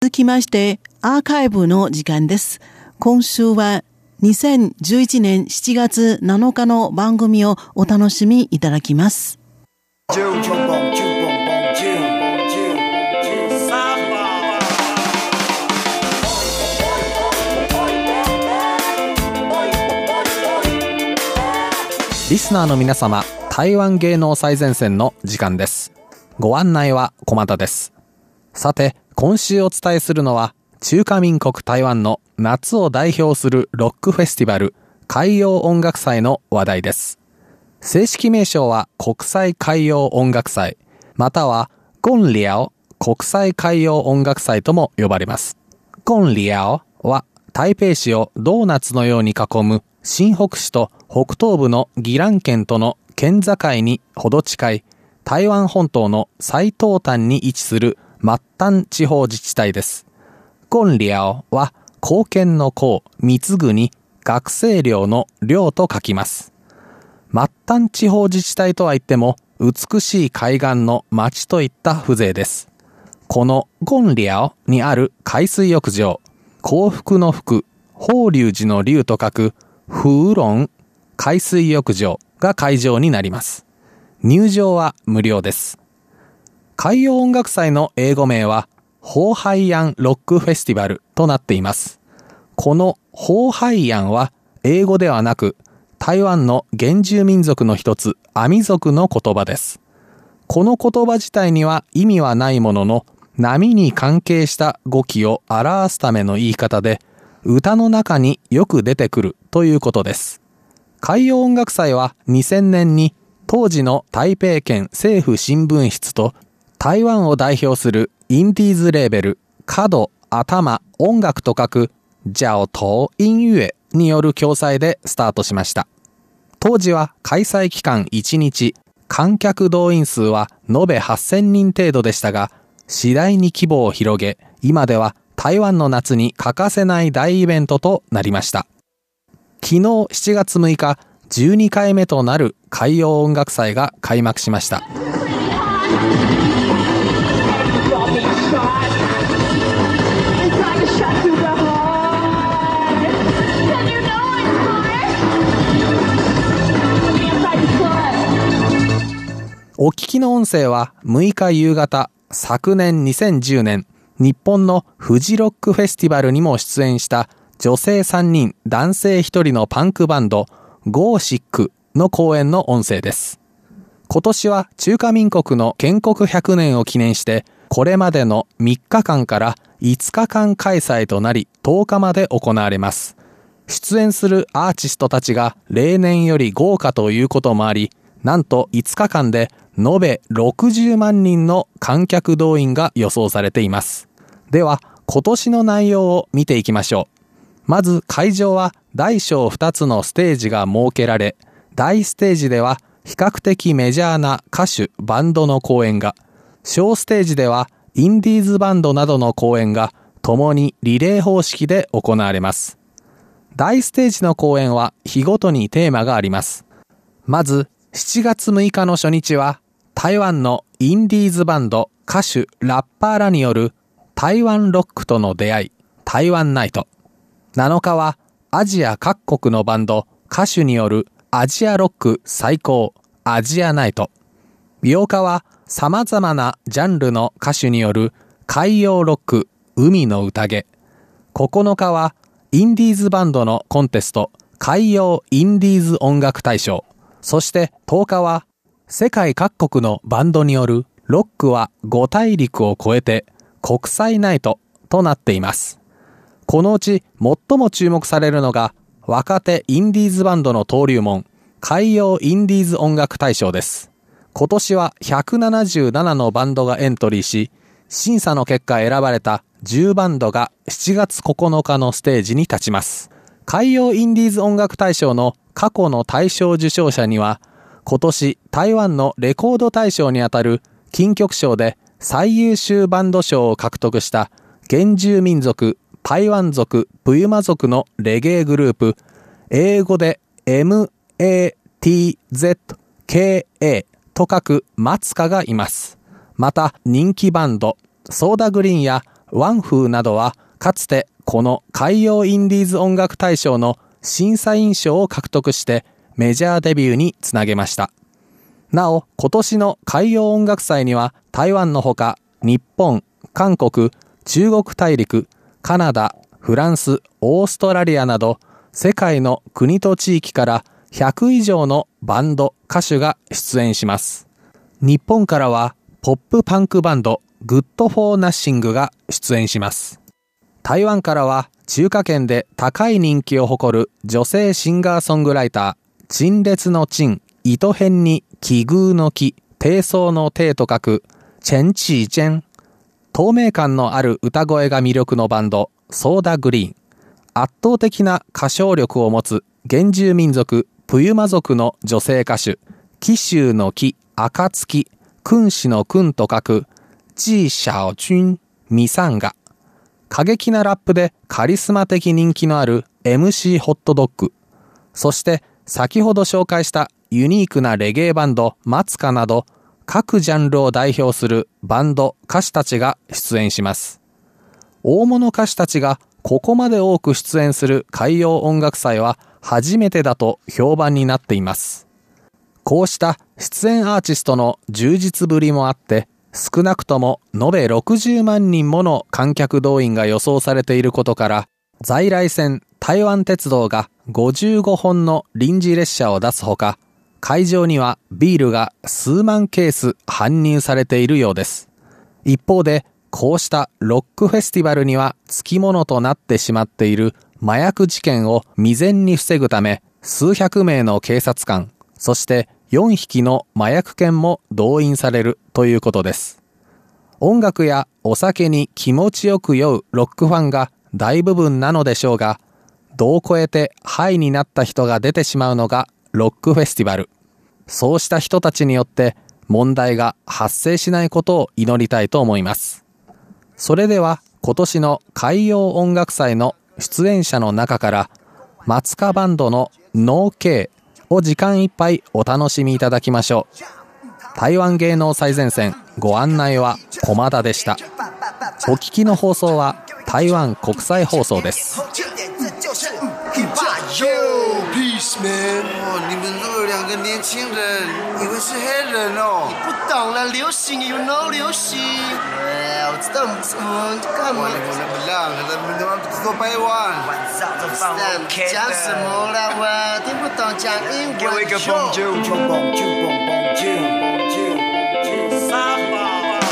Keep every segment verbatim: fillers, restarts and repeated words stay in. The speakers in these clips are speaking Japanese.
続きましてアーカイブの時間です。今週はにせんじゅういちねんしちがつなのかの番組をお楽しみいただきます。 リスナーの皆様、台湾芸能最前線の時間です。ご案内は駒田です。さて、今週お伝えするのは中華民国台湾の夏を代表するロックフェスティバル海洋音楽祭の話題です。正式名称は国際海洋音楽祭、またはゴンリャオ国際海洋音楽祭とも呼ばれます。ゴンリャオは台北市をドーナツのように囲む新北市と北東部の宜蘭県との県境にほど近い台湾本島の最東端に位置する末端地方自治体です。ゴンリャオは貢献の貢、貢ぐに学生寮の寮と書きます。末端地方自治体とは言っても美しい海岸の町といった風情です。このゴンリャオにある海水浴場、幸福の福、法隆寺の龍と書くフーロン海水浴場が会場になります。入場は無料です。海洋音楽祭の英語名はホーハイアンロックフェスティバルとなっています。このホーハイアンは英語ではなく台湾の原住民族の一つアミ族の言葉です。この言葉自体には意味はないものの、波に関係した語気を表すための言い方で歌の中によく出てくるということです。海洋音楽祭はにせんねんに当時の台北県政府新聞室と台湾を代表するインディーズレーベル角、頭、音楽と書くジャオトー音乐による共催でスタートしました。当時は開催期間いちにち、観客動員数は延べはっせんにん程度でしたが、次第に規模を広げ、今では台湾の夏に欠かせない大イベントとなりました。昨日しちがつむいか、じゅうにかいめとなる海洋音楽祭が開幕しました。お聞きの音声はむいか夕方、昨年にせんじゅうねん、日本のフジロックフェスティバルにも出演した女性さんにん、男性ひとりのパンクバンド、ゴーシックの公演の音声です。今年は中華民国の建国ひゃくねんを記念して、これまでのみっかかんからいつかかん開催となり、とおかまで行われます。出演するアーティストたちが例年より豪華ということもあり、なんといつかかんで延べろくじゅうまんにんの観客動員が予想されています。では、今年の内容を見ていきましょう。まず会場は大小ふたつのステージが設けられ、大ステージでは比較的メジャーな歌手、バンドの公演が、小ステージではインディーズバンドなどの公演が共にリレー方式で行われます。大ステージの公演は日ごとにテーマがあります。まずしちがつむいかの初日は台湾のインディーズバンド、歌手、ラッパーらによる台湾ロックとの出会い、台湾ナイト。なのかはアジア各国のバンド、歌手によるアジアロック最高、アジアナイト。ようかは様々なジャンルの歌手による海洋ロック、海の宴。ここのかはインディーズバンドのコンテスト、海洋インディーズ音楽大賞。そしてとおかは世界各国のバンドによるロックはご大陸を越えて国際ナイトとなっています。このうち最も注目されるのが若手インディーズバンドの登竜門、海洋インディーズ音楽大賞です。今年はひゃくななじゅうななのバンドがエントリーし、審査の結果選ばれたじゅうバンドがしちがつここのかのステージに立ちます。海洋インディーズ音楽大賞の過去の大賞受賞者には、今年台湾のレコード大賞にあたる金曲賞で最優秀バンド賞を獲得した原住民族、パイワン族、プユマ族のレゲエグループ、英語で エムエーティーゼットケーエー と書くマツカがいます。また人気バンドソーダグリーンやワンフーなどはかつてこの海洋インディーズ音楽大賞の審査員賞を獲得してメジャーデビューにつなげました。なお、今年の海洋音楽祭には台湾のほか日本、韓国、中国大陸、カナダ、フランス、オーストラリアなど世界の国と地域からひゃく以上のバンド、歌手が出演します。日本からはポップパンクバンドグッドフォーナッシングが出演します。台湾からは中華圏で高い人気を誇る女性シンガーソングライター、陳列の陳、糸辺に奇遇の奇、低層の低と書く陳启堅。透明感のある歌声が魅力のバンドソーダグリーン。圧倒的な歌唱力を持つ原住民族プユマ族の女性歌手、紀州の紀、暁、君子の君と書く紀曉君、ミサンガ。過激なラップでカリスマ的人気のある エムシー ホットドッグ。そして先ほど紹介したユニークなレゲエバンドマツカなど各ジャンルを代表するバンド歌手たちが出演します。大物歌手たちがここまで多く出演する海洋音楽祭は初めてだと評判になっています。こうした出演アーティストの充実ぶりもあって少なくとも延べろくじゅうまんにんもの観客動員が予想されていることから在来線台湾鉄道がごじゅうごほんの臨時列車を出すほか会場にはビールが数万ケース搬入されているようです。一方でこうしたロックフェスティバルにはつきものとなってしまっている麻薬事件を未然に防ぐため数百名の警察官、そしてよんひきの麻薬犬も動員されるということです。音楽やお酒に気持ちよく酔うロックファンが大部分なのでしょうが、度を超えてハイになった人が出てしまうのがロックフェスティバル。そうした人たちによって問題が発生しないことを祈りたいと思います。それでは今年の海洋音楽祭の出演者の中からマツカバンドのノーケーを時間いっぱいお楽しみいただきましょう。台湾芸能最前線ご案内は駒田でした。お聞きの放送は台湾国際放送です。 Yo, peace, man. 哦，你们都有两个年轻人，以为是黑人哦。 你不懂了，流行有 no 流行。哎，我知道你什么干嘛？ 哇，你们不让，他们他妈不够掰弯。 晚上都放我讲什么了？我听不懂讲英文。 给我一个 bonjour bonjour bonjour bonjour。沙发。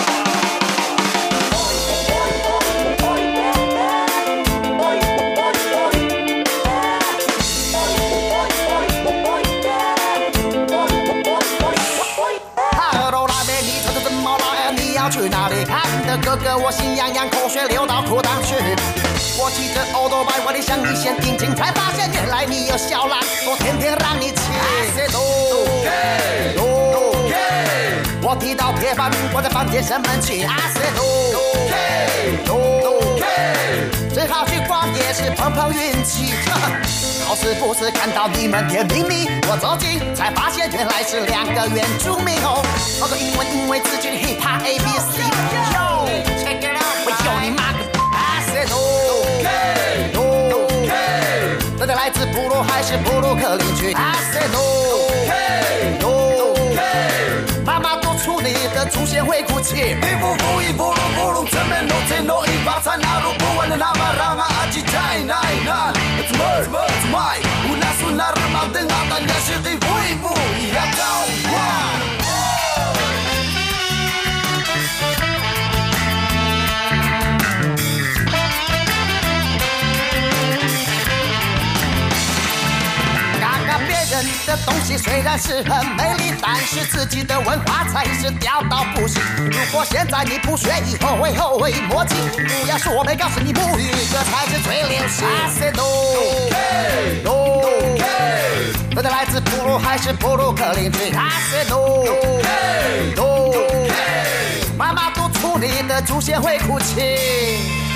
去哪里看的哥哥我心痒痒，口水流到裤裆去。我骑着欧多拜，我的向你先定睛，才发现原来你有小懒，我天天让你骑。我踢到铁板，我在房间生闷气。最好去逛夜市碰碰运气。好死不死看到你们甜蜜蜜，我走近才发现原来是两个原住民哦。我说英文因为自己的 hip hop A B C。Yo check it out， 我有你妈个 I said no no no， 大家来自部落还是布鲁克林区 I said no no， 妈妈多出你的祖先会哭泣。一步步一步路步路正面 no take no 一把菜拿路不完的那么让嘛阿吉太难难。It's more it's my， 无奈是那日毛的阿丹也是一步一步一样高呀。人的东西虽然是很美丽，但是自己的文化才是掉到不行。如果现在你不学，以后会后悔莫及。不要说我没告诉你母语，这才是最流行。I said no no no， 大家来自部落还是布鲁克林区 I said no no no， 妈妈督促你的祖先会哭泣。